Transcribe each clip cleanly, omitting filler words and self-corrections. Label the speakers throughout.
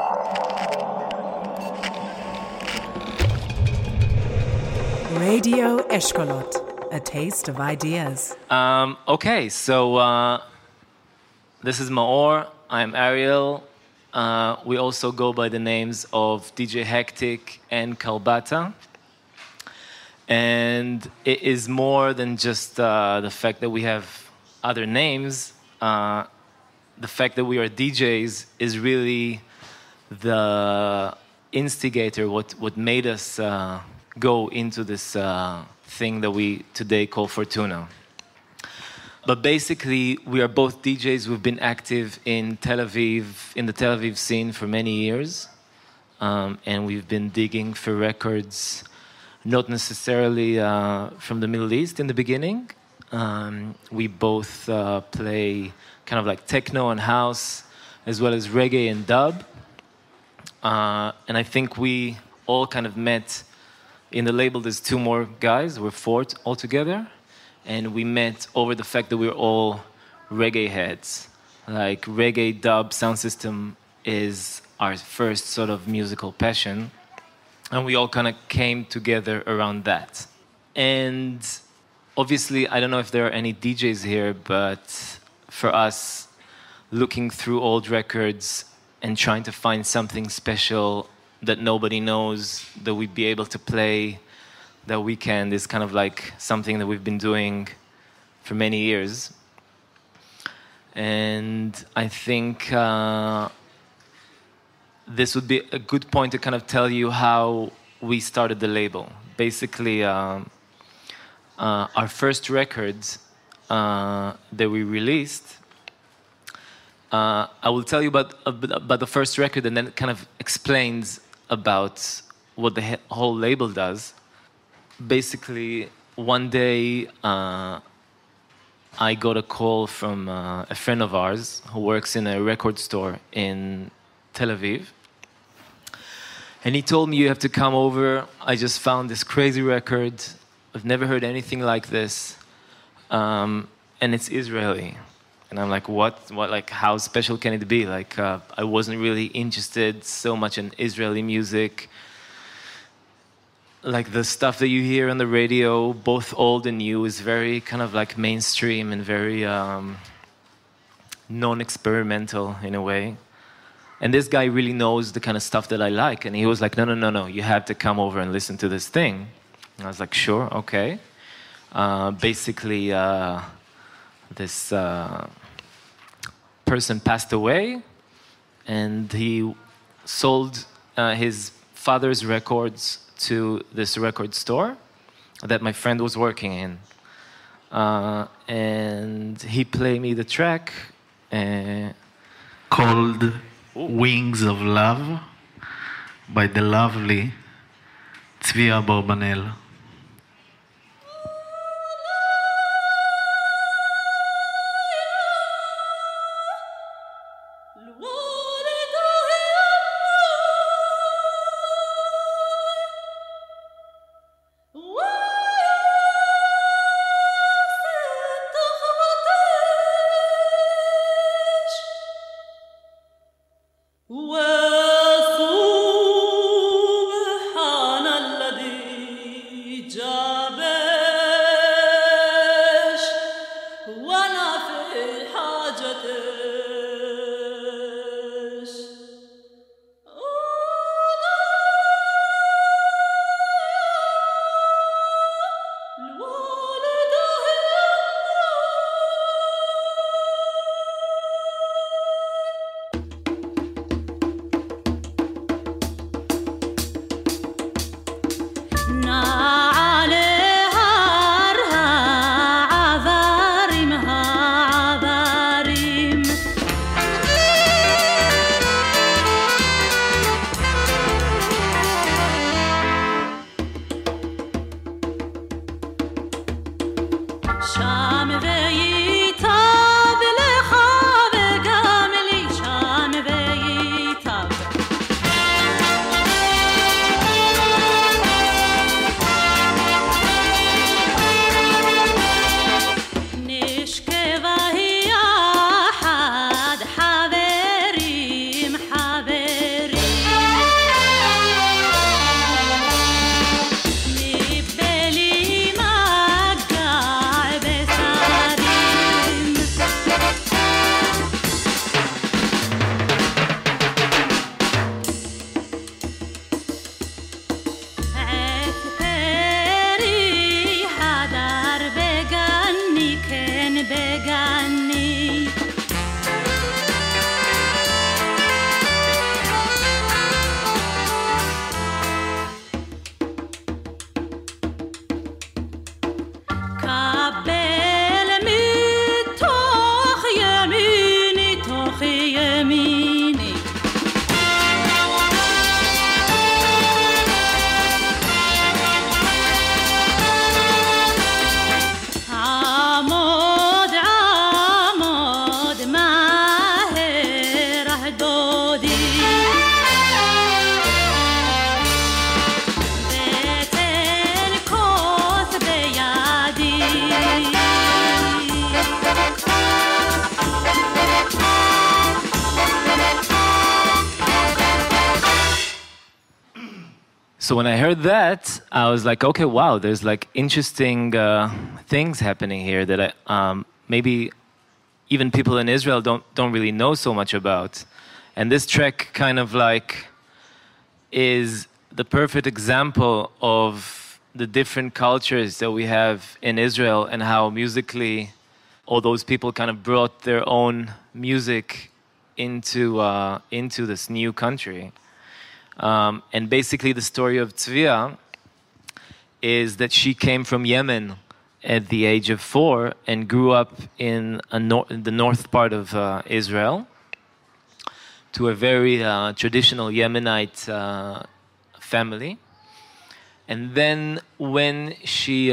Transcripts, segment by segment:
Speaker 1: Radio Eshkolot, a taste of ideas.
Speaker 2: Okay, so this is Maor, I'm Ariel. We also go by the names of DJ Hectic and Kalbata. And it is more than just the fact that we have other names. The fact that we are DJs is really the instigator, what made us go into this thing that we today call Fortuna. But basically, we are both DJs. We've been active in Tel Aviv, in the Tel Aviv scene for many years. And we've been digging for records, not necessarily from the Middle East in the beginning. We both play kind of like techno and house, as well as reggae and dub. And I think we all kind of met in the label. There's two more guys. We're four altogether. And we met over the fact that we're all reggae heads. Like reggae dub sound system is our first sort of musical passion. And we all kind of came together around that. And obviously, I don't know if there are any DJs here, but for us, looking through old records and trying to find something special that nobody knows that we'd be able to play that weekend is kind of like something that we've been doing for many years. And I think this would be a good point to kind of tell you how we started the label. Basically, our first records that we released, I will tell you about the first record and then it kind of explains about what the whole label does. Basically, one day I got a call from a friend of ours who works in a record store in Tel Aviv. And he told me, you have to come over. I just found this crazy record. I've never heard anything like this. And it's Israeli. And I'm like, what? Like, how special can it be? Like, I wasn't really interested so much in Israeli music. Like, the stuff that you hear on the radio, both old and new, is very kind of like mainstream and very non-experimental in a way. And this guy really knows the kind of stuff that I like. And he was like, no, you have to come over and listen to this thing. And I was like, sure, okay. Basically, this person passed away, and he sold his father's records to this record store that my friend was working in. And he played me the track
Speaker 3: called Wings of Love by the lovely Tzvi Abarbanel.
Speaker 2: So when I heard that, I was like, okay, wow, there's like interesting things happening here that maybe even people in Israel don't really know so much about. And this track kind of like is the perfect example of the different cultures that we have in Israel and how musically all those people kind of brought their own music into this new country. And basically the story of Tzvia is that she came from Yemen at the age of 4 and grew up in the north part of Israel to a very traditional Yemenite family. And then when she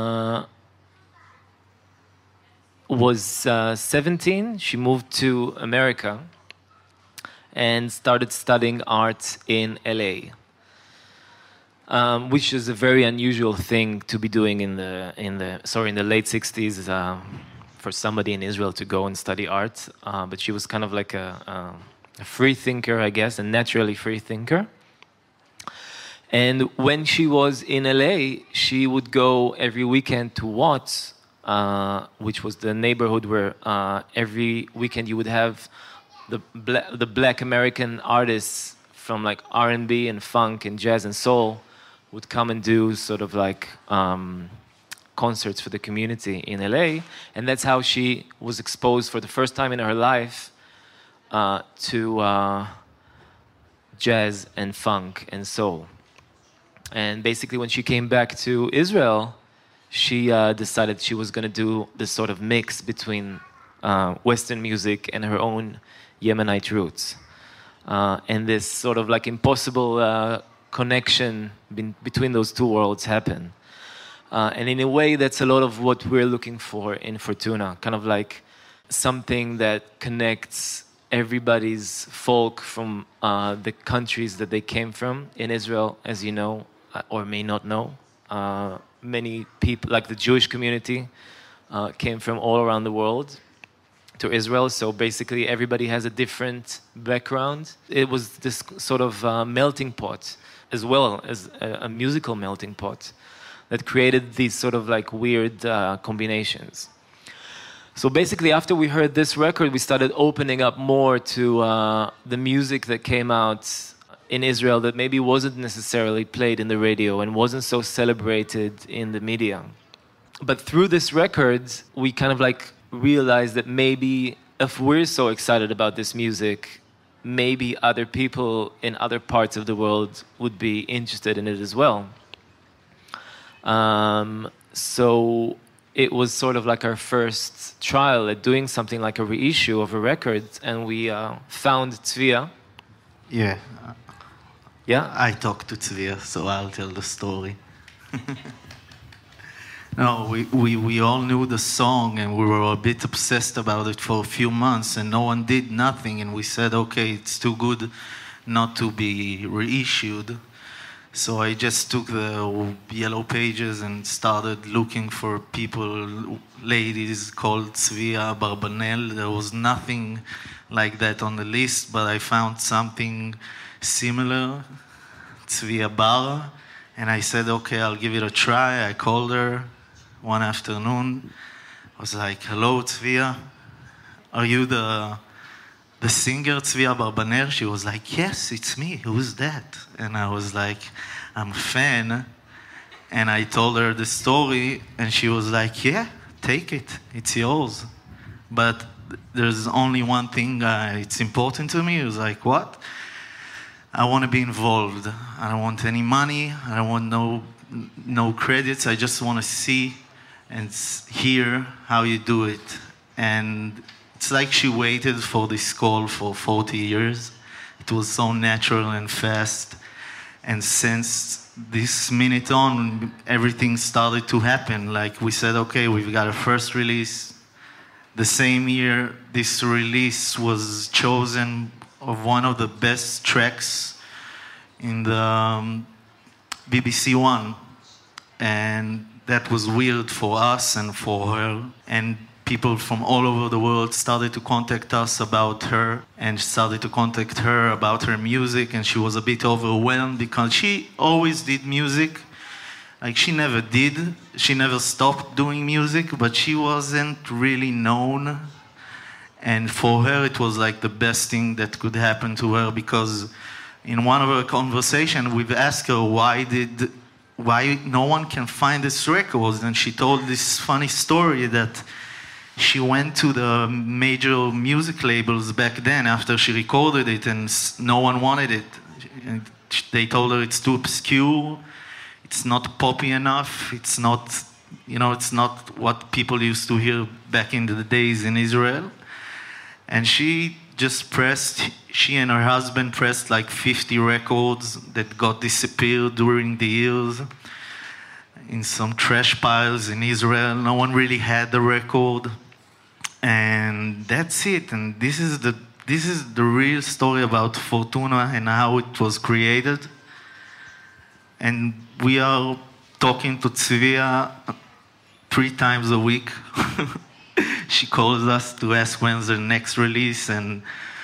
Speaker 2: was 17, she moved to America and started studying art in LA, which is a very unusual thing to be doing in the late 60s for somebody in Israel to go and study art. But she was kind of like a free thinker, I guess, a naturally free thinker. And when she was in LA, she would go every weekend to Watts, which was the neighborhood where every weekend you would have the black American artists from like R&B and funk and jazz and soul would come and do sort of like concerts for the community in LA. And that's how she was exposed for the first time in her life to jazz and funk and soul. And basically when she came back to Israel, she decided she was going to do this sort of mix between Western music and her own Yemenite roots. And this sort of like impossible connection between those two worlds happened. And in a way, that's a lot of what we're looking for in Fortuna, kind of like something that connects everybody's folk from the countries that they came from. In Israel, as you know, or may not know, many people, like the Jewish community, came from all around the world to Israel. So basically everybody has a different background. It was this sort of melting pot, as well as a musical melting pot, that created these sort of like weird combinations. So basically after we heard this record, we started opening up more to the music that came out in Israel that maybe wasn't necessarily played in the radio and wasn't so celebrated in the media. But through this record, we kind of like realized that maybe if we're so excited about this music, maybe other people in other parts of the world would be interested in it as well. So it was sort of like our first trial at doing something like a reissue of a record, and we found Tzvia.
Speaker 3: Yeah.
Speaker 2: Yeah?
Speaker 3: I talked to Tzvia, so I'll tell the story. No, we all knew the song, and we were a bit obsessed about it for a few months, and no one did nothing, and we said, okay, it's too good not to be reissued. So I just took the yellow pages and started looking for people, ladies called Tzvia Barbanel. There was nothing like that on the list, but I found something similar, Tzvia Bar, and I said, okay, I'll give it a try. I called her one afternoon. I was like, hello, Tzvia, are you the singer Tzvia Barbanel? She was like, yes, it's me. Who's that? And I was like, I'm a fan. And I told her the story, and she was like, yeah, take it. It's yours. But there's only one thing it's important to me. It was like, what? I want to be involved. I don't want any money. I don't want no credits. I just want to see and hear how you do it. And it's like she waited for this call for 40 years. It was so natural and fast. And since this minute on, everything started to happen. Like we said, okay, we've got a first release. The same year this release was chosen of one of the best tracks in the BBC One. And that was weird for us and for her. And people from all over the world started to contact us about her and started to contact her about her music. And she was a bit overwhelmed because she always did music. Like, she never did. She never stopped doing music, but she wasn't really known. And for her, it was like the best thing that could happen to her, because in one of our conversations, we've asked her why no one can find this record. And she told this funny story that she went to the major music labels back then after she recorded it, and no one wanted it. And they told her it's too obscure, it's not poppy enough, it's not, it's not what people used to hear back in the days in Israel. And she and her husband pressed like 50 records that got disappeared during the years in some trash piles in Israel. No one really had the record. And that's it. And this is the real story about Fortuna and how it was created. And we are talking to Tzvia 3 times a week. She calls us to ask when's the next release, and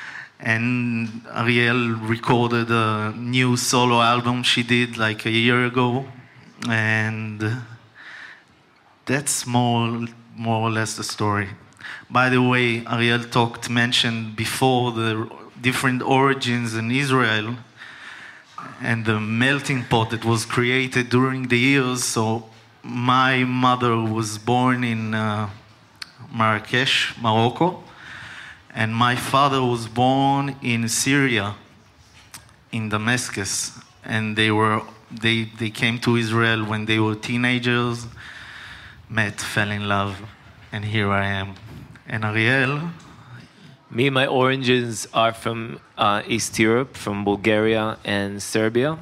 Speaker 3: Ariel recorded a new solo album she did like a year ago, and that's more or less the story. By the way, Ariel mentioned before the different origins in Israel and the melting pot that was created during the years. So my mother was born in Marrakesh, Morocco, and my father was born in Syria, in Damascus, and they came to Israel when they were teenagers, met, fell in love, and here I am. And Ariel?
Speaker 2: Me, my origins are from East Europe, from Bulgaria and Serbia.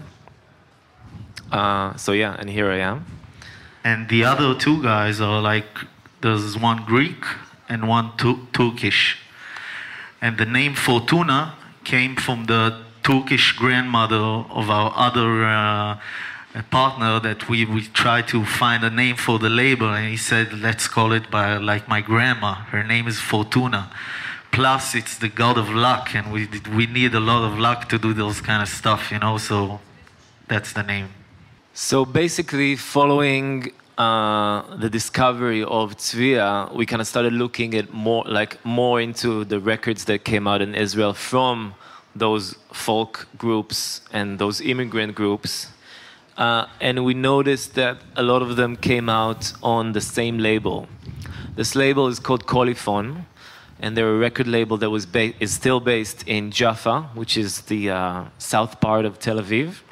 Speaker 2: And here I am.
Speaker 3: And the other 2 guys are like, there's one Greek and one Turkish. And the name Fortuna came from the Turkish grandmother of our other partner that we tried to find a name for the label, and he said, let's call it by like my grandma. Her name is Fortuna. Plus, it's the god of luck, and we need a lot of luck to do those kind of stuff, so that's the name.
Speaker 2: So basically, following the discovery of Tzvia, we kind of started looking at more into the records that came out in Israel from those folk groups and those immigrant groups. And we noticed that a lot of them came out on the same label. This label is called Coliphon, and they're a record label that is still based in Jaffa, which is the south part of Tel Aviv.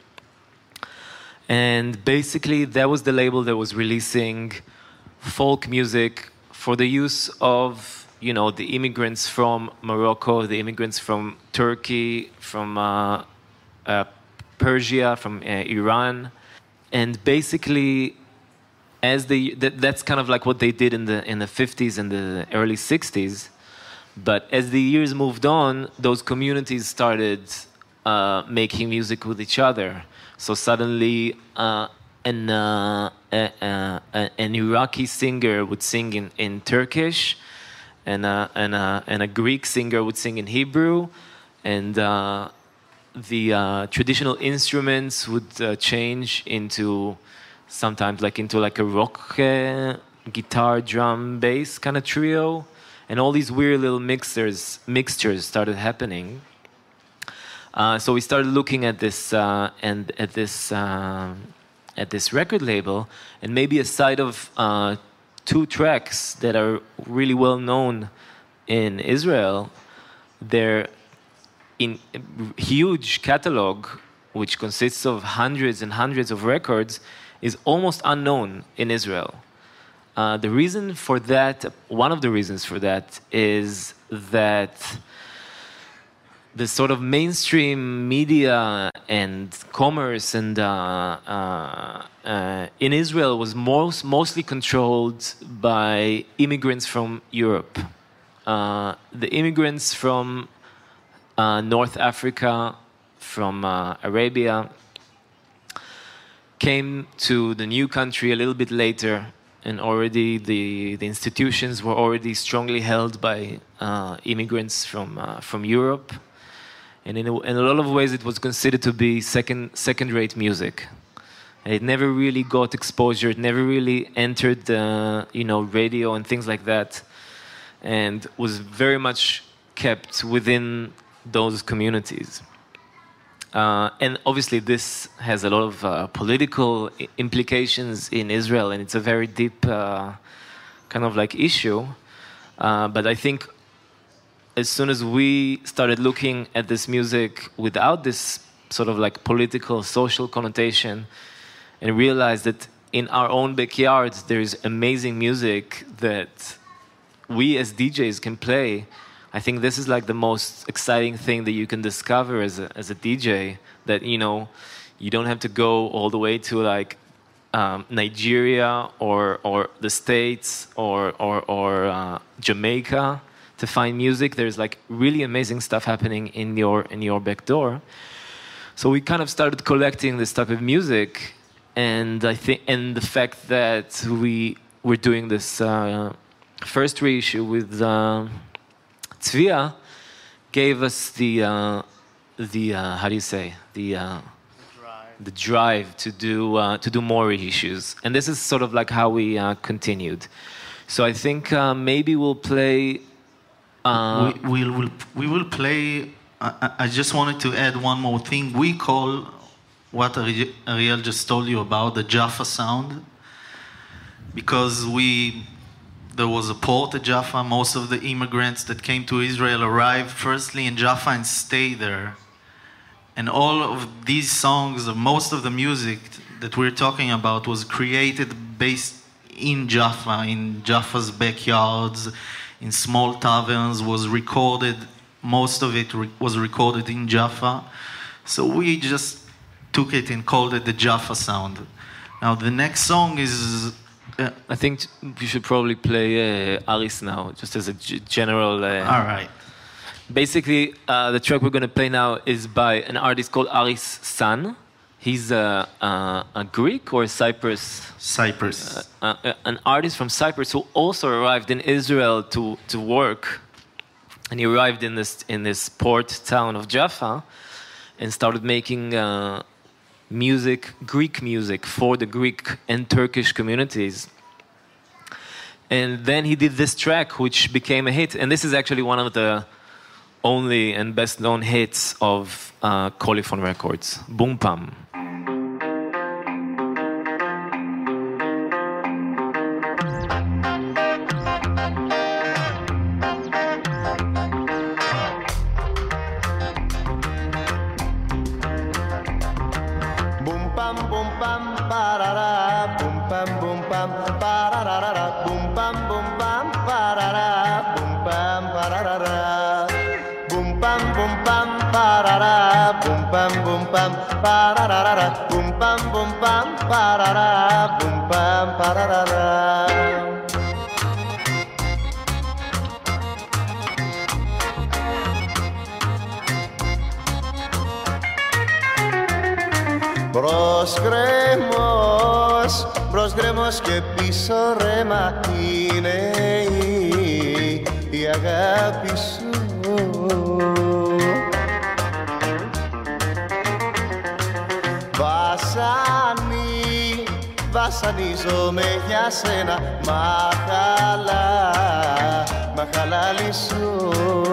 Speaker 2: And basically, that was the label that was releasing folk music for the use of, the immigrants from Morocco, the immigrants from Turkey, from Persia, from Iran. And basically, that's kind of like what they did in the 50s and the early 60s. But as the years moved on, those communities started making music with each other. So suddenly, an Iraqi singer would sing in Turkish, and a Greek singer would sing in Hebrew, and the traditional instruments would change into sometimes into a rock guitar, drum, bass kind of trio, and all these weird little mixtures started happening. So we started looking at this at this record label, and maybe aside of 2 tracks that are really well known in Israel, their huge catalog, which consists of hundreds and hundreds of records, is almost unknown in Israel. The reason for that, one of the reasons for that, is that the sort of mainstream media and commerce and in Israel was mostly controlled by immigrants from Europe. The immigrants from North Africa, from Arabia, came to the new country a little bit later, and already the institutions were already strongly held by immigrants from Europe, and in a lot of ways it was considered to be second-rate music. And it never really got exposure. It never really entered the radio and things like that, and was very much kept within those communities. And obviously this has a lot of political implications in Israel, and it's a very deep kind of like issue. But I think as soon as we started looking at this music without this sort of like political, social connotation, and realized that in our own backyards there is amazing music that we as DJs can play, I think this is like the most exciting thing that you can discover as a DJ, that you don't have to go all the way to like Nigeria or the States or Jamaica to find music. There's like really amazing stuff happening in your back door. So we kind of started collecting this type of music, and I think the fact that we were doing this first reissue with Tzvia gave us the how do you say, the drive to do more reissues, and this is sort of like how we continued. So I think maybe we'll play.
Speaker 3: We will play. I just wanted to add one more thing. We call what Ariel just told you about the Jaffa sound, because there was a port at Jaffa. Most of the immigrants that came to Israel arrived firstly in Jaffa and stayed there. And all of these songs, most of the music that we're talking about, was created based in Jaffa's backyards, in small taverns, was recorded. Most of it was recorded in Jaffa. So we just took it and called it the Jaffa sound. Now the next song is...
Speaker 2: I think we should probably play Aris now, just as a general...
Speaker 3: All right.
Speaker 2: Basically, the track we're going to play now is by an artist called Aris San. He's a Greek or Cyprus?
Speaker 3: Cyprus.
Speaker 2: An artist from Cyprus who also arrived in Israel to work. And he arrived in this port town of Jaffa and started making music, Greek music, for the Greek and Turkish communities. And then he did this track, which became a hit. And this is actually one of the only and best known hits of Coliphon Records, Boom Pam.
Speaker 4: Μπρος γκρέμος και πίσω ρέμα είναι η αγάπη σου. Βασανίζομαι για σένα, μα χαλάλι σου.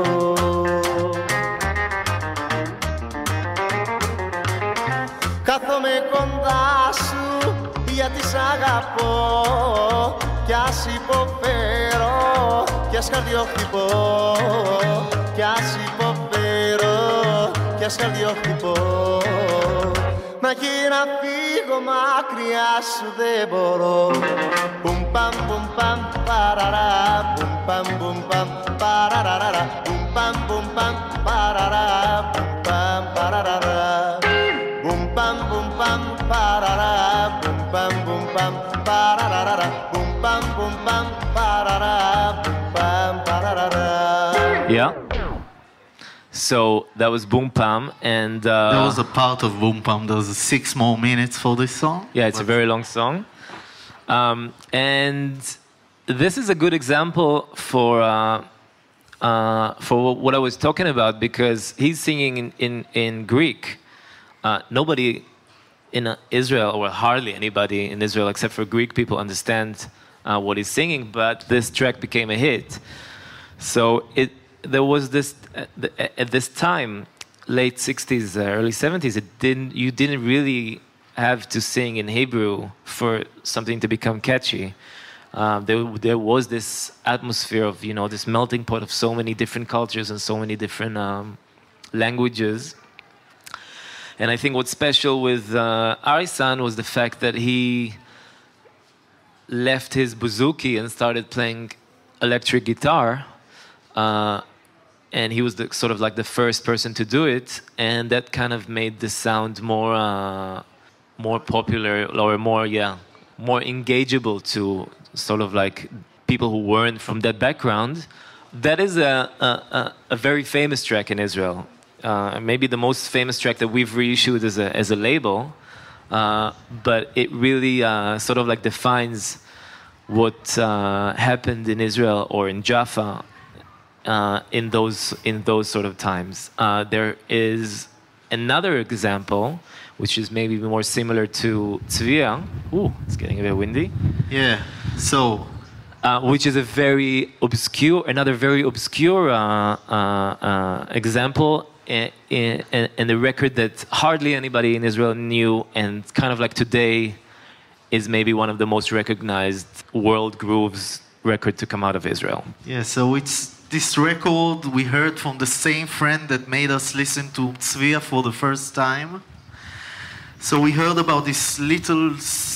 Speaker 4: Κάθομαι κοντά σου γιατί σ' αγαπώ, κι ας υποφέρω, κι ας καρδιοχτυπώ, κι ας υποφέρω, κι ας καρδιοχτυπώ. Μα και να φύγω μακριά σου δεν μπορώ. Πουμ παμ πουμ παμ παραρά, πουμ παμ πουμ παμ παραραραρα, πουμ παμ πουμ παμ παραρά, πουμ παμ παραραρα. Πουμ παμ πουμ παμ παραρά, πουμ παμ πουμ παμ παραραραρα, πουμ παμ πουμ παμ παραρά, πουμ παμ παραραρα.
Speaker 2: Yeah. So that was Boom Pam, and
Speaker 3: That was a part of Boom Pam. There was 6 more minutes for this song.
Speaker 2: yeah, it's a very long song. And this is a good example for what I was talking about, because he's singing in Greek. Nobody in Israel, or hardly anybody in Israel except for Greek people, understand what he's singing, but this track became a hit. So there was this, at this time, late 60s, early 70s, you didn't really have to sing in Hebrew for something to become catchy. There was this atmosphere of, this melting pot of so many different cultures and so many different languages. And I think what's special with Arisan was the fact that he left his bouzouki and started playing electric guitar. And he was sort of like the first person to do it. And that kind of made the sound more popular, or more engageable to sort of like people who weren't from that background. That is a very famous track in Israel. Maybe the most famous track that we've reissued as a label, but it really sort of like defines what happened in Israel or in Jaffa in those sort of times. There is another example, which is maybe more similar to Tzvia. Ooh, it's getting a bit windy.
Speaker 3: Yeah. So.
Speaker 2: Which is another very obscure example. And a record that hardly anybody in Israel knew, and kind of like today is maybe one of the most recognized world grooves record to come out of Israel.
Speaker 3: Yeah, so it's this record we heard from the same friend that made us listen to Tzvia for the first time. So we heard about this little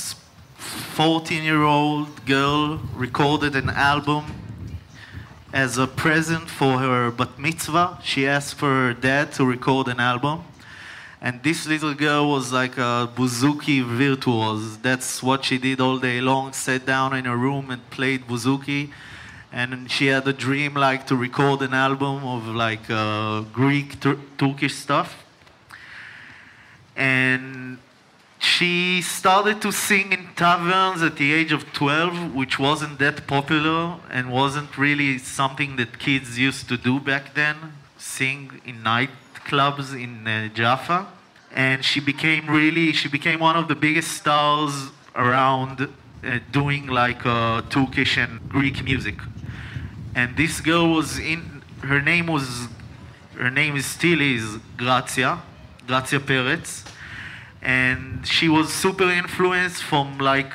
Speaker 3: 14-year-old girl recorded an album as a present for her bat mitzvah. She asked for her dad to record an album. And this little girl was like a bouzouki virtuoso. That's what she did all day long, sat down in her room and played bouzouki. And she had a dream like to record an album of like Greek, Turkish stuff. And she started to sing in taverns at the age of 12, which wasn't that popular and wasn't really something that kids used to do back then, sing in nightclubs in Jaffa. And she became one of the biggest stars around doing like Turkish and Greek music. And this girl her name still is Grazia Peretz. And she was super influenced from like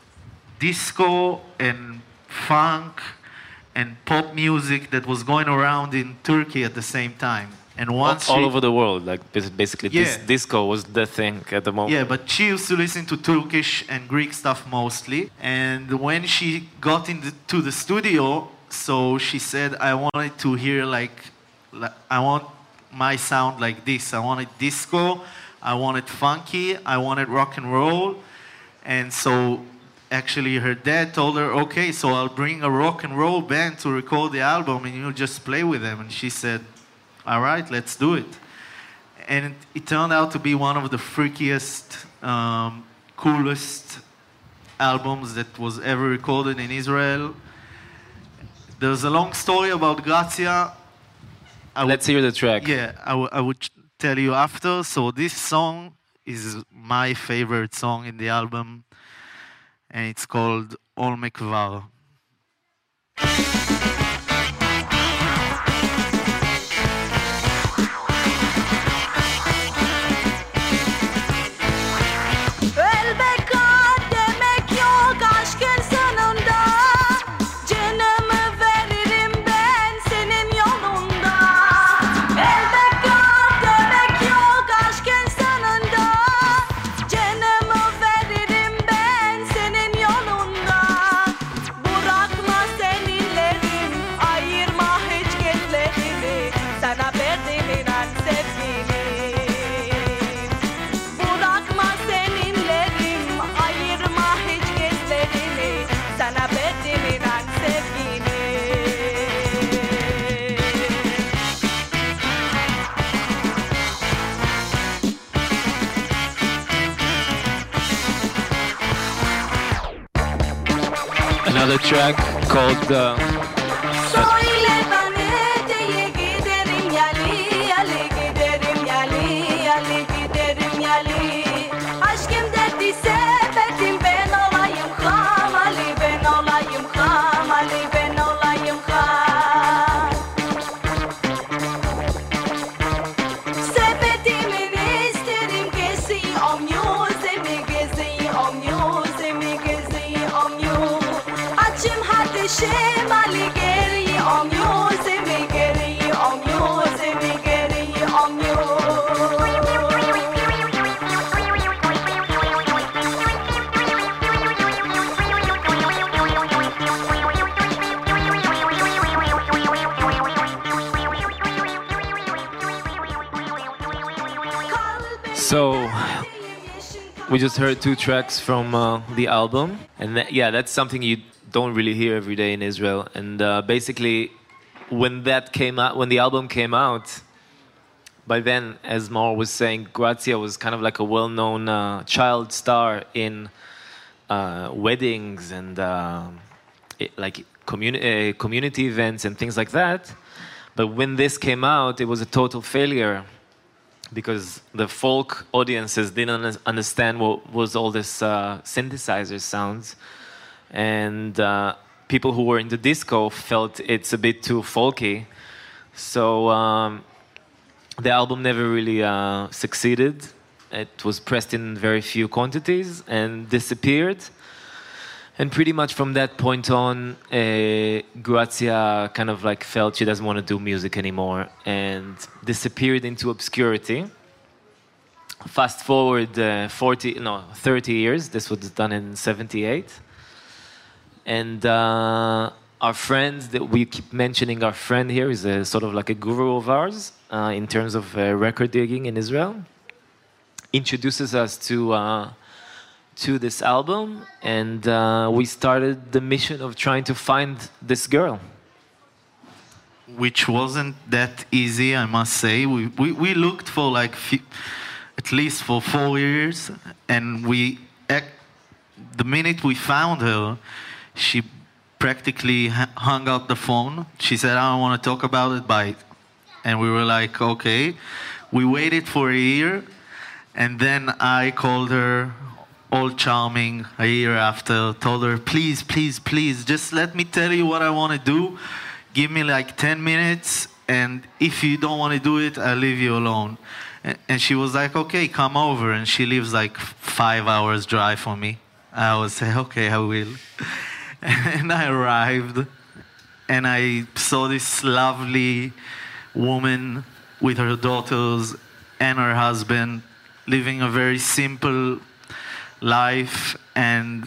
Speaker 3: disco and funk and pop music that was going around in Turkey at the same time. And once
Speaker 2: all over the world, like basically, this disco was the thing at the moment.
Speaker 3: Yeah, but she used to listen to Turkish and Greek stuff mostly. And when she got into the studio, so she said, I wanted to hear I want my sound like this. I wanted disco. I wanted funky, I wanted rock and roll. And so actually her dad told her, okay, so I'll bring a rock and roll band to record the album and you'll just play with them. And she said, all right, let's do it. And it turned out to be one of the freakiest, coolest albums that was ever recorded in Israel. There's a long story about Grazia.
Speaker 2: Let's hear the track.
Speaker 3: Yeah, I would tell you after. So this song is my favorite song in the album, and it's called Ol Mekvar.
Speaker 5: Bırakma seninlerin
Speaker 2: another track called So we just heard two tracks from the album, and that's something you don't really hear every day in Israel. And basically, when the album came out, by then, as Maor was saying, Grazia was kind of like a well-known child star in weddings and community events and things like that. But when this came out, it was a total failure, because the folk audiences didn't understand what was all this synthesizer sounds, and people who were into disco felt it's a bit too folky. So the album never really succeeded. It was pressed in very few quantities and disappeared. And pretty much from that point on, Grazia kind of like felt she doesn't want to do music anymore and disappeared into obscurity. Fast forward 30 years. This was done in 1978. And our friend that we keep mentioning, our friend here, is a sort of like a guru of ours in terms of record digging in Israel. Introduces us to this album, and we started the mission of trying to find this girl.
Speaker 3: Which wasn't that easy, I must say. We looked for like at least for 4 years, and the minute we found her, she practically hung up the phone. She said, "I don't want to talk about it, bye." And we were like, okay. We waited for a year, and then I called her, all charming, a year after, told her, please, please, please, just let me tell you what I want to do. Give me like 10 minutes, and if you don't want to do it, I'll leave you alone. And she was like, okay, come over. And she lives like 5 hours drive from me. I would say, okay, I will. And I arrived, and I saw this lovely woman with her daughters and her husband, living a very simple life. And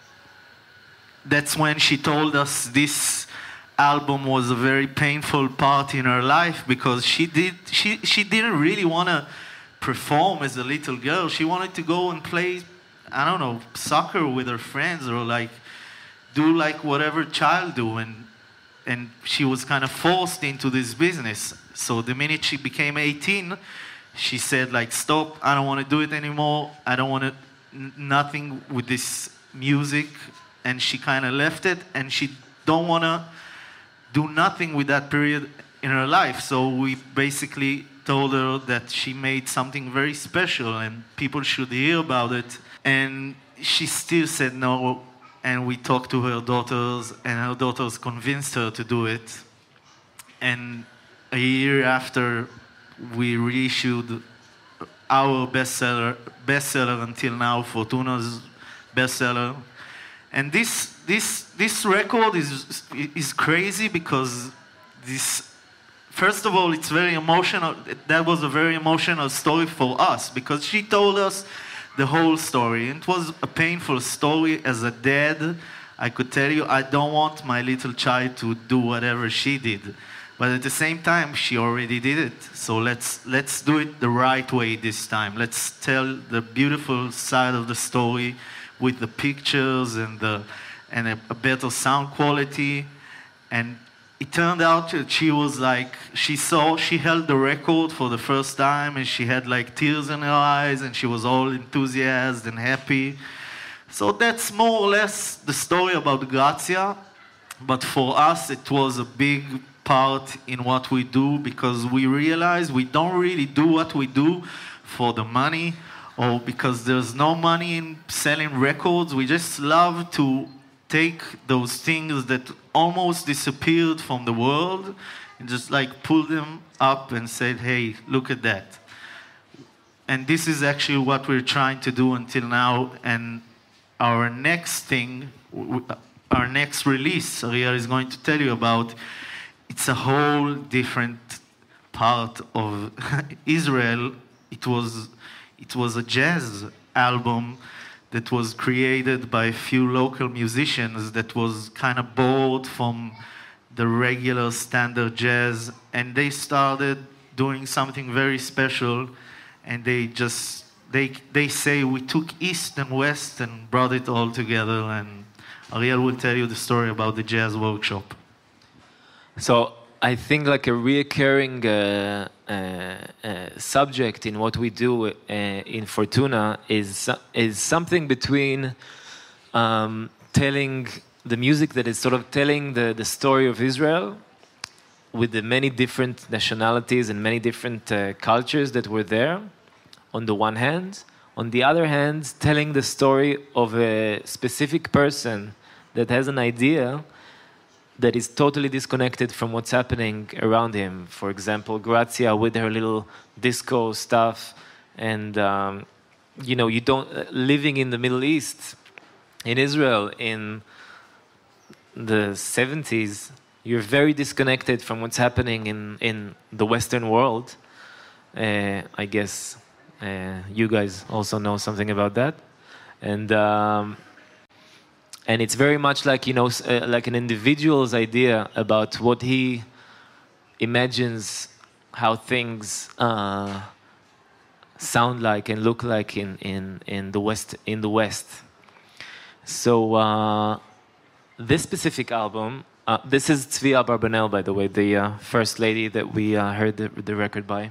Speaker 3: that's when she told us this album was a very painful part in her life, because she didn't really want to perform as a little girl. She wanted to go and play, I don't know, soccer with her friends, or like do like whatever child do, and she was kind of forced into this business. So the minute she became 18, she said like, stop, I don't want to do it anymore. I don't want to nothing with this music. And she kind of left it, and she don't want to do nothing with that period in her life. So we basically told her that she made something very special and people should hear about it. And she still said no. And we talked to her daughters, and her daughters convinced her to do it. And a year after, we reissued our bestseller until now, Fortuna's bestseller. And this record is crazy, because first of all, it's very emotional. That was a very emotional story for us, because she told us the whole story. It was a painful story. As a dad, I could tell you, I don't want my little child to do whatever she did. But at the same time, she already did it. So let's do it the right way this time. Let's tell the beautiful side of the story with the pictures and a better sound quality. And it turned out that she was like, she held the record for the first time, and she had like tears in her eyes, and she was all enthusiastic and happy. So that's more or less the story about Grazia. But for us, it was a big part in what we do because we realize we don't really do what we do for the money or because there's no money in selling records. We just love to take those things that almost disappeared from the world and just like pull them up and say, hey, look at that. And this is actually what we're trying to do until now. And our next thing, our next release, Ariel is going to tell you about, it's a whole different part of Israel. It was a jazz album that was created by a few local musicians that was kind of bored from the regular standard jazz, and they started doing something very special, and they say we took East and West and brought it all together, and Ariel will tell you the story about the jazz workshop.
Speaker 2: So I think like a reoccurring subject in what we do in Fortuna is something between telling the music that is sort of telling the story of Israel with the many different nationalities and many different cultures that were there on the one hand. On the other hand, telling the story of a specific person that has an idea that is totally disconnected from what's happening around him. For example, Grazia with her little disco stuff, and you don't living in the Middle East, in Israel, in the 70s, you're very disconnected from what's happening in the Western world. I guess you guys also know something about that, and it's very much like like an individual's idea about what he imagines how things sound like and look like in the West. So this specific album, this is Tzvi Abarbanel, by the way, the first lady that we heard the record by.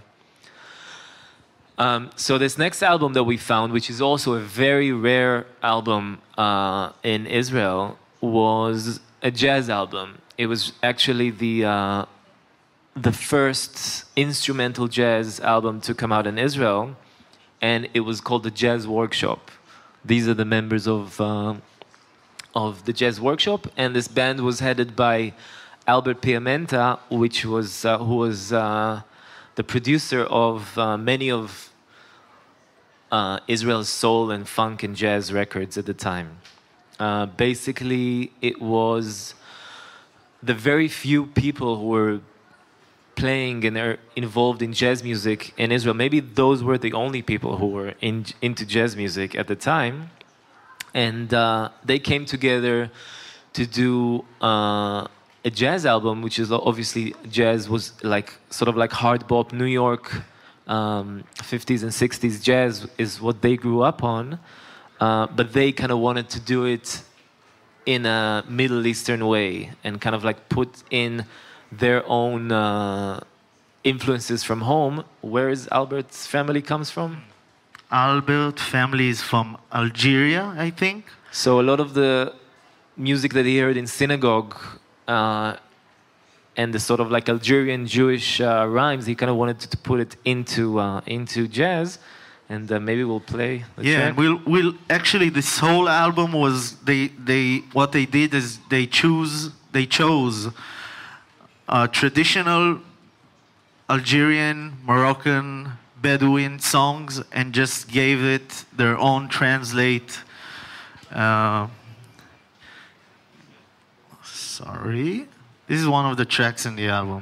Speaker 2: So this next album that we found, which is also a very rare album in Israel, was a jazz album. It was actually the first instrumental jazz album to come out in Israel, and it was called the Jazz Workshop. These are the members of the Jazz Workshop, and this band was headed by Albert Piamenta, who was the producer of many of Israel's soul and funk and jazz records at the time. Basically, it was the very few people who were playing and are involved in jazz music in Israel. Maybe those were the only people who were into jazz music at the time. And they came together to do a jazz album, which is obviously jazz was like sort of like hard bop New York 50s and 60s jazz is what they grew up on, but they kind of wanted to do it in a Middle Eastern way and kind of like put in their own influences from home. Where is Albert's family comes from?
Speaker 3: Albert family is from Algeria, I think.
Speaker 2: So a lot of the music that he heard in synagogue and the sort of like Algerian Jewish rhymes, he kind of wanted to put it into jazz, and maybe we'll play the track.
Speaker 3: We'll actually this whole album was what they did is they chose traditional Algerian, Moroccan, Bedouin songs and just gave it their own translate. Sorry. This is one of the tracks in the album.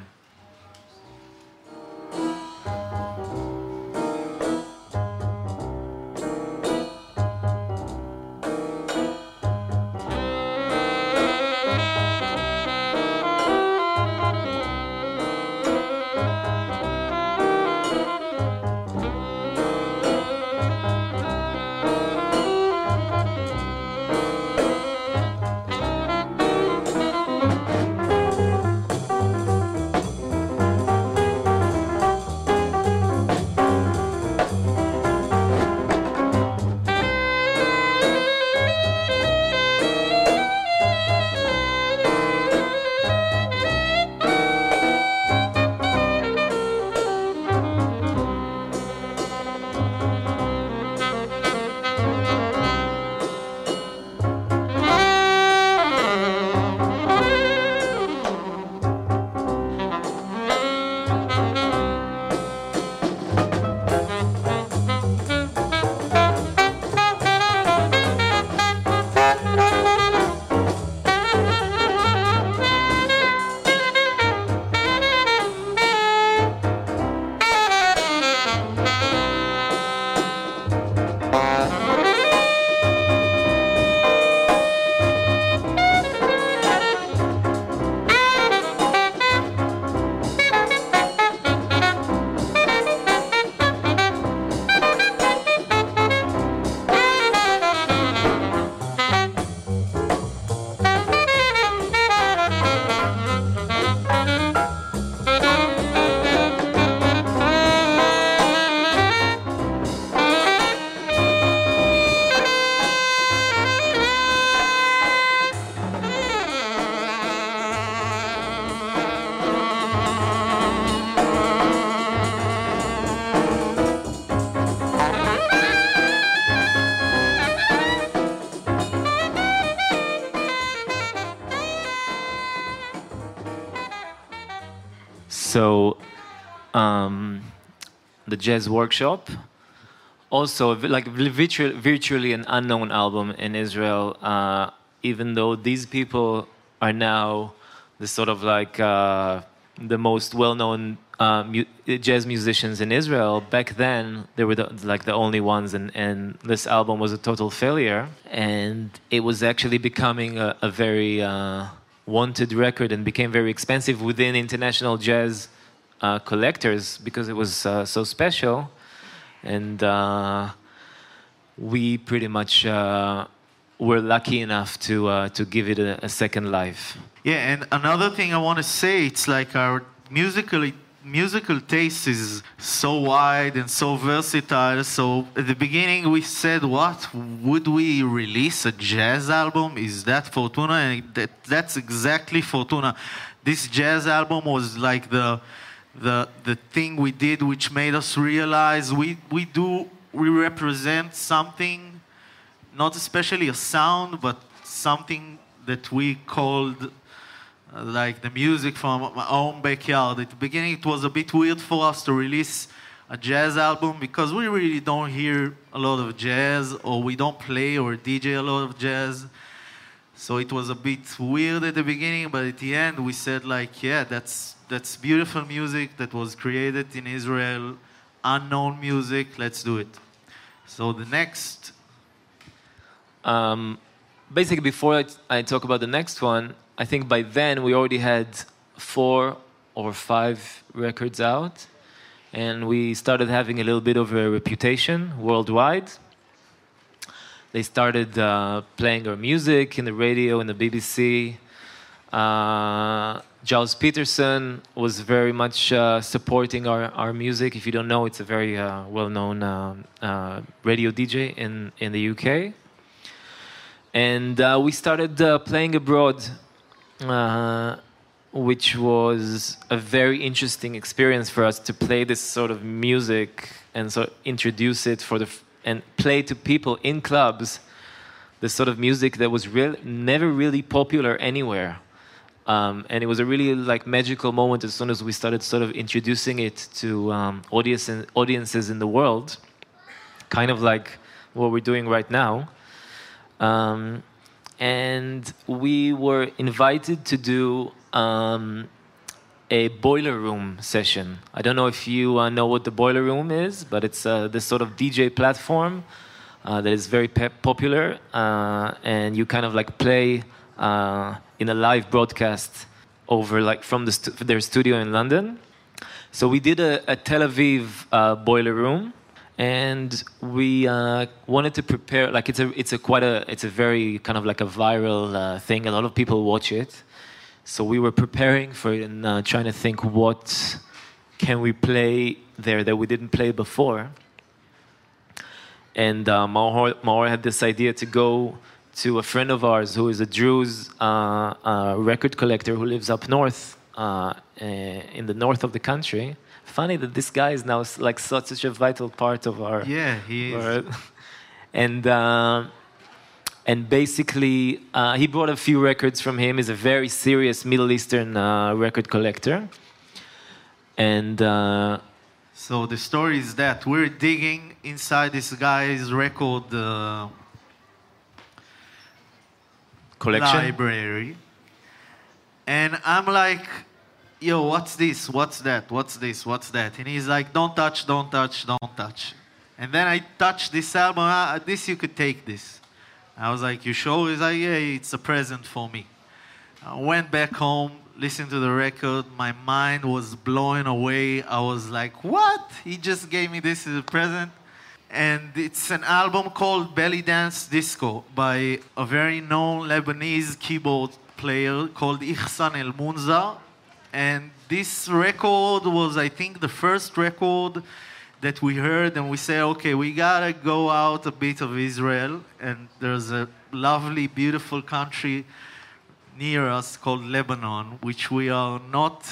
Speaker 2: the Jazz Workshop. Also, like virtually an unknown album in Israel, even though these people are now the sort of like the most well-known jazz musicians in Israel. Back then, they were the only ones, and this album was a total failure. And it was actually becoming a very wanted record and became very expensive within international jazz collectors because it was so special. And we pretty much were lucky enough to give it a second life.
Speaker 3: Yeah, and another thing I want to say, it's like our musical taste is so wide and so versatile. So at the beginning we said, what would we release a jazz album? Is that Fortuna? And that's exactly Fortuna. This jazz album was like the thing we did which made us realize we represent something, not especially a sound, but something that we called like the music from my own backyard. At the beginning it was a bit weird for us to release a jazz album because we really don't hear a lot of jazz, or we don't play or DJ a lot of jazz. So it was a bit weird at the beginning, but at the end we said like, yeah, that's beautiful music that was created in Israel, unknown music, let's do it. So the next...
Speaker 2: basically, before I talk about the next one, I think by then we already had 4 or 5 records out, and we started having a little bit of a reputation worldwide. They started playing our music in the radio, in the BBC. Giles Peterson was very much supporting our music. If you don't know, it's a very well-known radio DJ in the UK. And we started playing abroad, which was a very interesting experience for us to play this sort of music and sort of introduce it and play to people in clubs, this sort of music that was never really popular anywhere. And it was a really like magical moment as soon as we started sort of introducing it to audiences in the world, kind of like what we're doing right now. And we were invited to do a boiler room session. I don't know if you know what the boiler room is, but it's this sort of DJ platform that is very popular, and you kind of like play in a live broadcast over like from their studio in London. So we did a Tel Aviv boiler room. And we wanted to prepare, like it's a very kind of like a viral thing. A lot of people watch it, so we were preparing for it and trying to think what can we play there that we didn't play before. And Maor had this idea to go to a friend of ours who is a Druze record collector who lives up north in the north of the country. Funny that this guy is now like such a vital part of our...
Speaker 3: Yeah, he is.
Speaker 2: And basically, he brought a few records from him. He's a very serious Middle Eastern record collector. And...
Speaker 3: so the story is that we're digging inside this guy's record
Speaker 2: collection
Speaker 3: library. And I'm like... yo, what's this? What's that? What's this? What's that? And he's like, don't touch, don't touch, don't touch. And then I touched this album. This, you could take this. I was like, you sure? He's like, yeah, it's a present for me. I went back home, listened to the record. My mind was blowing away. I was like, what? He just gave me this as a present. And it's an album called Belly Dance Disco by a very known Lebanese keyboard player called Ihsan El Munza. And this record was, I think, the first record that we heard, and we said, okay, we gotta go out a bit of Israel, and there's a lovely, beautiful country near us called Lebanon, which we are not...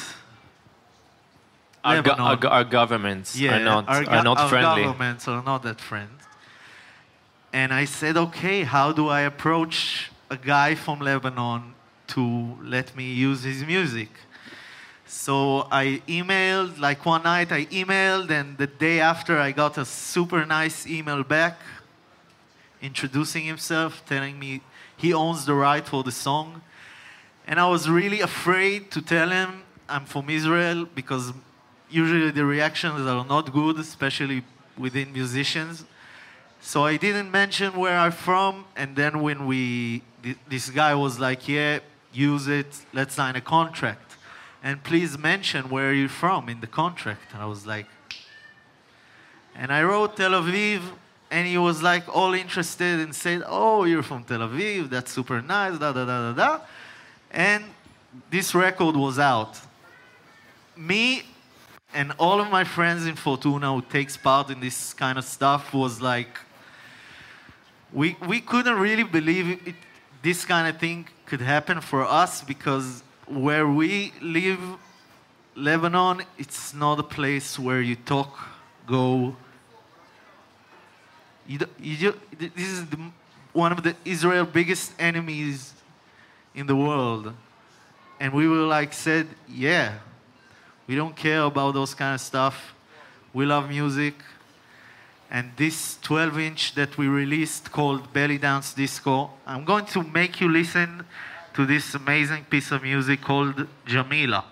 Speaker 2: Our governments are not friendly.
Speaker 3: Our governments are not that friend. And I said, okay, how do I approach a guy from Lebanon to let me use his music? So I emailed, like one night I emailed, and the day after I got a super nice email back introducing himself, telling me he owns the right for the song. And I was really afraid to tell him I'm from Israel, because usually the reactions are not good, especially within musicians. So I didn't mention where I'm from, and then when this guy was like, yeah, use it, let's sign a contract. And please mention where you're from in the contract. And I was like, and I wrote Tel Aviv, and he was like all interested and said, oh, you're from Tel Aviv, that's super nice, da da da da da. And this record was out. Me and all of my friends in Fortuna who takes part in this kind of stuff was like, we couldn't really believe this kind of thing could happen for us, because where we live, Lebanon, it's not a place where you talk, go. This is one of the Israel biggest enemies in the world. And we were like, said, yeah, we don't care about those kind of stuff. We love music. And this 12-inch that we released called Belly Dance Disco, I'm going to make you listen to this amazing piece of music called Jamila.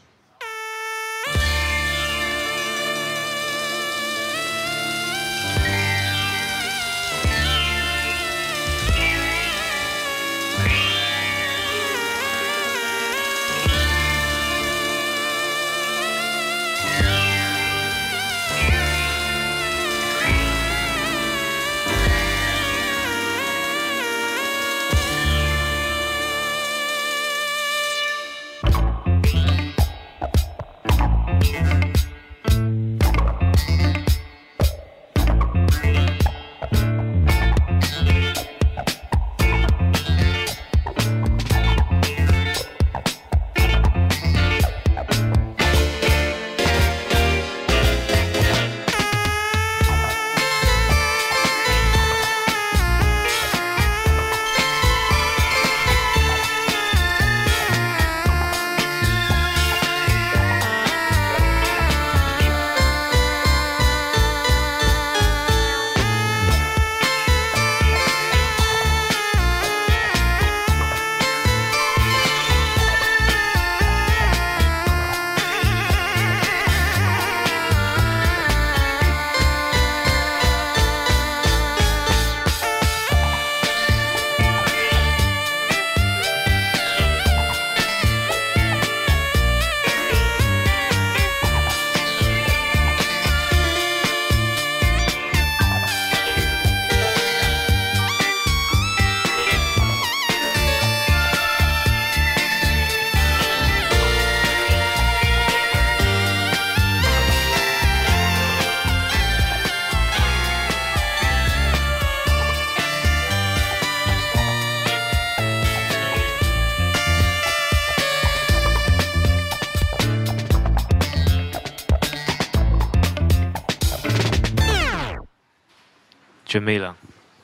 Speaker 2: Jamila.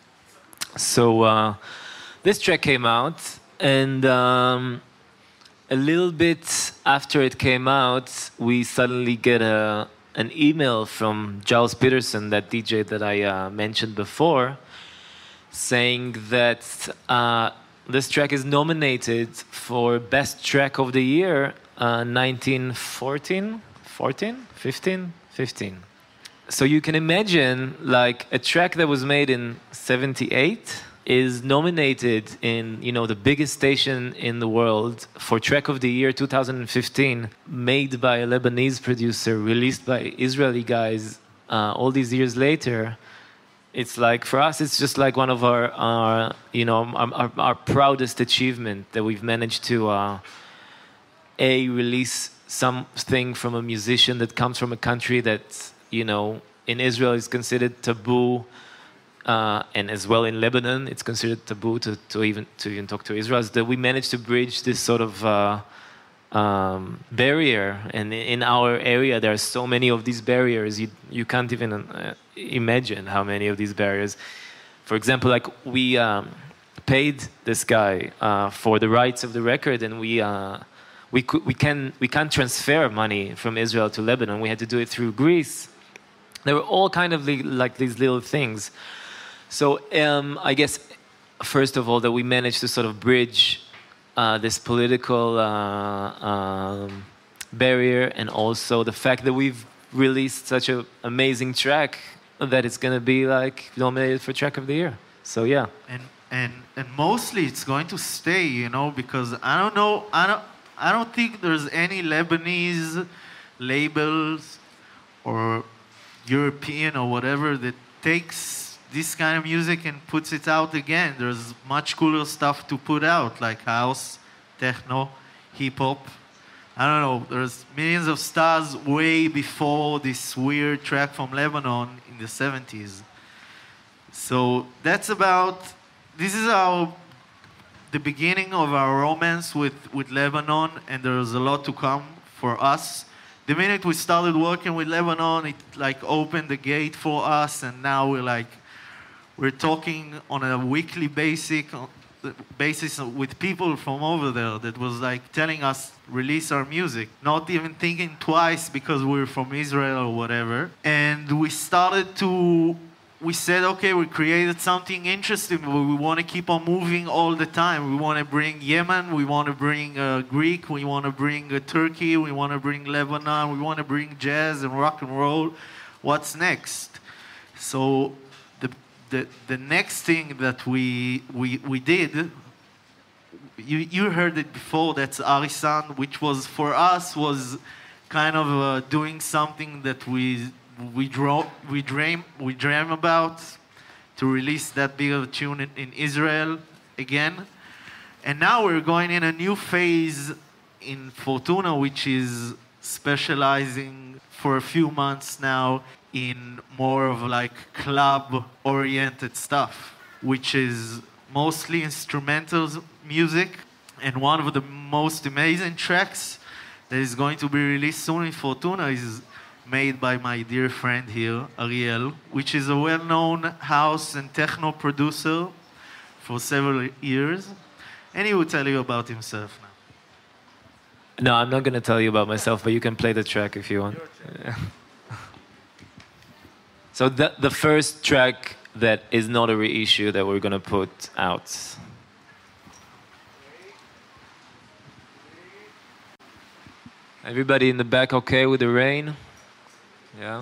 Speaker 2: So this track came out, and a little bit after it came out, we suddenly get an email from Giles Peterson, that DJ that I mentioned before, saying that this track is nominated for Best Track of the Year 1914, 15. So you can imagine, like, a track that was made in 78 is nominated in, you know, the biggest station in the world for Track of the Year 2015, made by a Lebanese producer, released by Israeli guys all these years later. It's like, for us, it's just like one of our proudest achievement, that we've managed to release something from a musician that comes from a country that, you know, in Israel is considered taboo, and as well in Lebanon, it's considered taboo to even talk to Israelis. That we managed to bridge this sort of barrier, and in our area there are so many of these barriers. You can't even imagine how many of these barriers. For example, like, we paid this guy for the rights of the record, and we can't transfer money from Israel to Lebanon. We had to do it through Greece. There were all kind of like these little things. So I guess first of all that we managed to sort of bridge this political barrier, and also the fact that we've released such an amazing track that it's going to be like nominated for track of the year. So yeah.
Speaker 3: And mostly it's going to stay, you know, because I don't think there's any Lebanese labels or European or whatever that takes this kind of music and puts it out again. There's much cooler stuff to put out, like house, techno, hip hop. I don't know, there's millions of stars way before this weird track from Lebanon in the 70s. So this is the beginning of our romance with Lebanon, and there's a lot to come for us. The minute we started working with Lebanon, it like opened the gate for us, and now we're talking on a weekly basis with people from over there that was like telling us release our music, not even thinking twice because we're from Israel or whatever. And we said, okay, we created something interesting, but we want to keep on moving all the time. We want to bring Yemen, we want to bring Greek, we want to bring Turkey, we want to bring Lebanon, we want to bring jazz and rock and roll. What's next? So the next thing that we did, you heard it before, that's Arisan, which was for us was kind of doing something that we dream about, to release that big of a tune in Israel again. And now we're going in a new phase in Fortuna, which is specializing for a few months now in more of like club-oriented stuff, which is mostly instrumental music. And one of the most amazing tracks that is going to be released soon in Fortuna is made by my dear friend here, Ariel, which is a well-known house and techno producer for several years. And he will tell you about himself now.
Speaker 2: No, I'm not going to tell you about myself, but you can play the track if you want. So the first track that is not a reissue that we're going to put out. Everybody in the back okay with the rain? Yeah.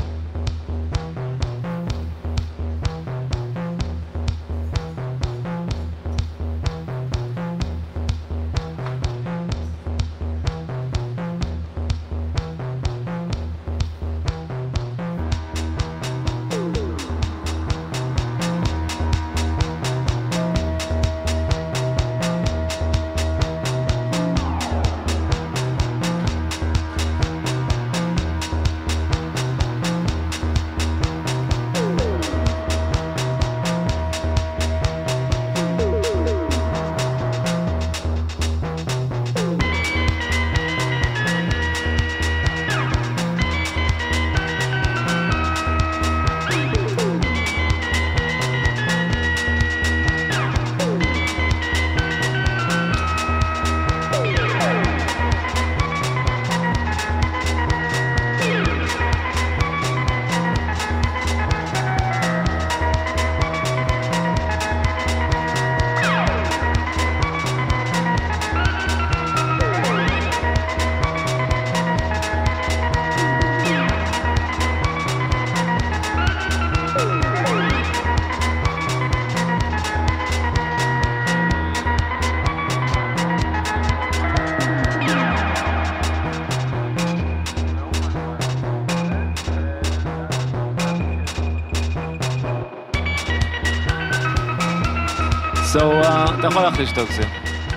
Speaker 2: So, אתה יכול להחליש טוב זה.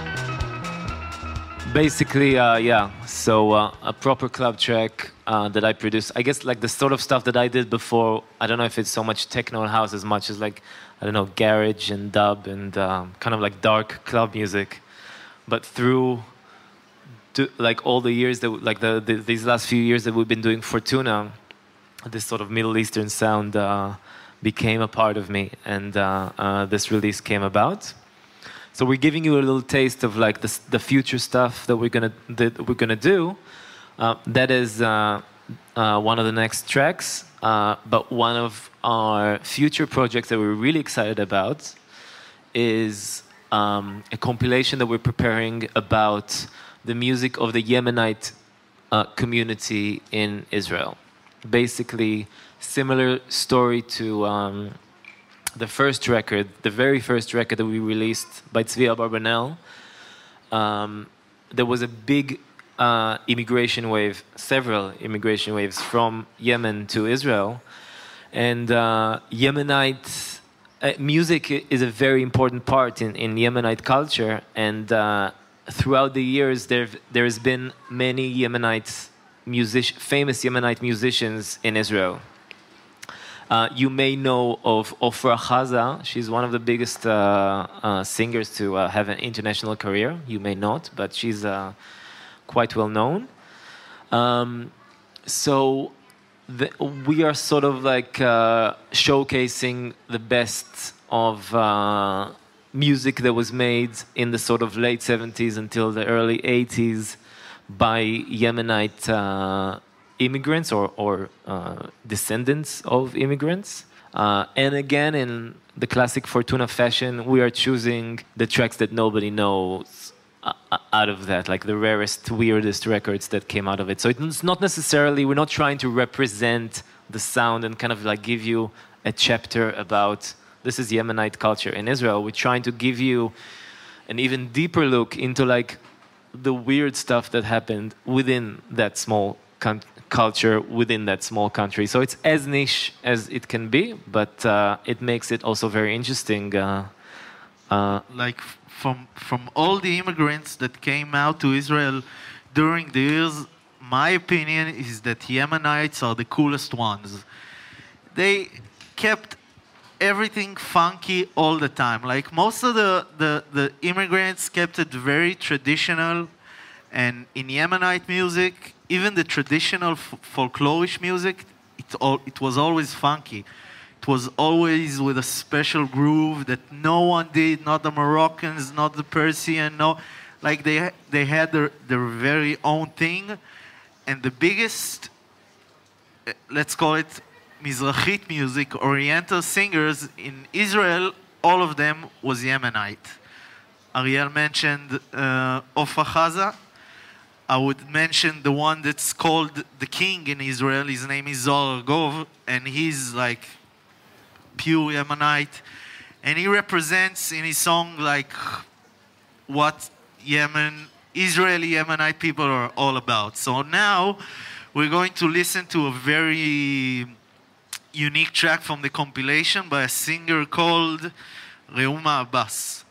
Speaker 2: Basically, yeah, so a proper club track that I produced. I guess like the sort of stuff that I did before, I don't know if it's so much techno and house as much as like, I don't know, garage and dub and kind of like dark club music. But through like all the years, that like these last few years that we've been doing Fortuna, this sort of Middle Eastern sound became a part of me, and this release came about. So we're giving you a little taste of like the future stuff that we're gonna do. That is one of the next tracks. But one of our future projects that we're really excited about is a compilation that we're preparing about the music of the Yemenite community in Israel. Basically, similar story to the first record, the very first record that we released by Tzvi Abarbanel. There was a big immigration wave, several immigration waves from Yemen to Israel. And Yemenite music is a very important part in Yemenite culture. And throughout the years, there's been many famous Yemenite musicians in Israel. You may know of Ofra Haza. She's one of the biggest singers to have an international career. You may not, but she's quite well known. So we are sort of like showcasing the best of music that was made in the sort of late 70s until the early 80s by Yemenite immigrants or descendants of immigrants. And again, in the classic Fortuna fashion, we are choosing the tracks that nobody knows out of that, like the rarest, weirdest records that came out of it. So it's not necessarily, we're not trying to represent the sound and kind of like give you a chapter about this is Yemenite culture in Israel. We're trying to give you an even deeper look into like the weird stuff that happened within that small culture, within that small country. So it's as niche as it can be, but it makes it also very interesting.
Speaker 3: Like from all the immigrants that came out to Israel during the years, my opinion is that Yemenites are the coolest ones. They kept everything funky all the time. Like most of the immigrants kept it very traditional, and in Yemenite music, even the traditional folklorish music, it was always funky. It was always with a special groove that no one did, not the Moroccans, not the Persian, no. Like they had their very own thing. And the biggest, let's call it Mizrahit music, Oriental singers in Israel, all of them was Yemenite. Ariel mentioned Ofra Haza. I would mention the one that's called the king in Israel. His name is Zohar Argov, and he's like pure Yemenite. And he represents in his song like what Israeli Yemenite people are all about. So now we're going to listen to a very unique track from the compilation by a singer called Reuma Abbas.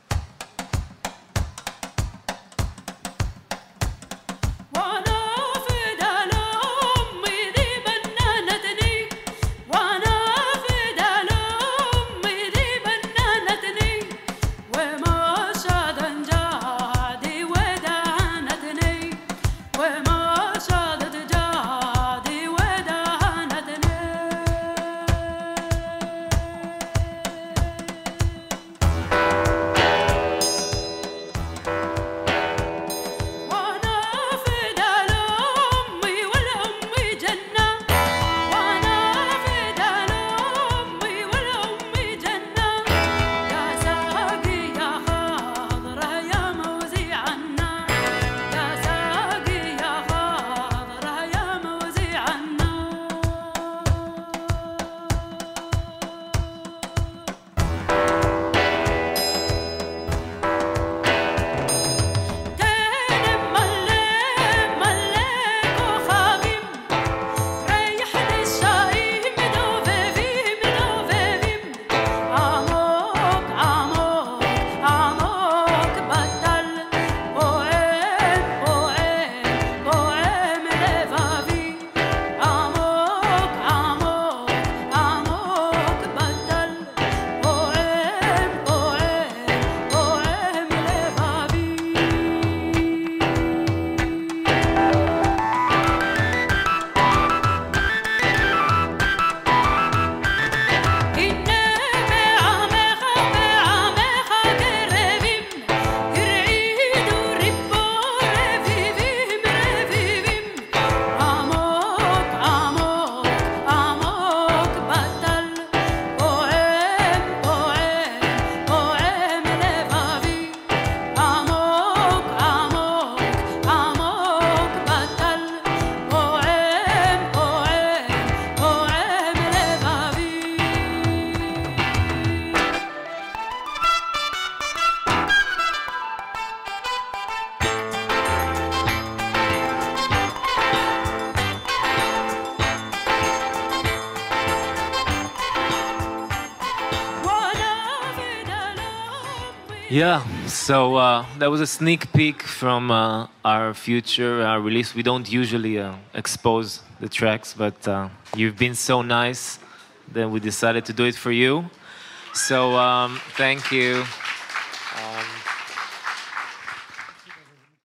Speaker 2: Yeah, so that was a sneak peek from our future release. We don't usually expose the tracks, but you've been so nice that we decided to do it for you. So thank you.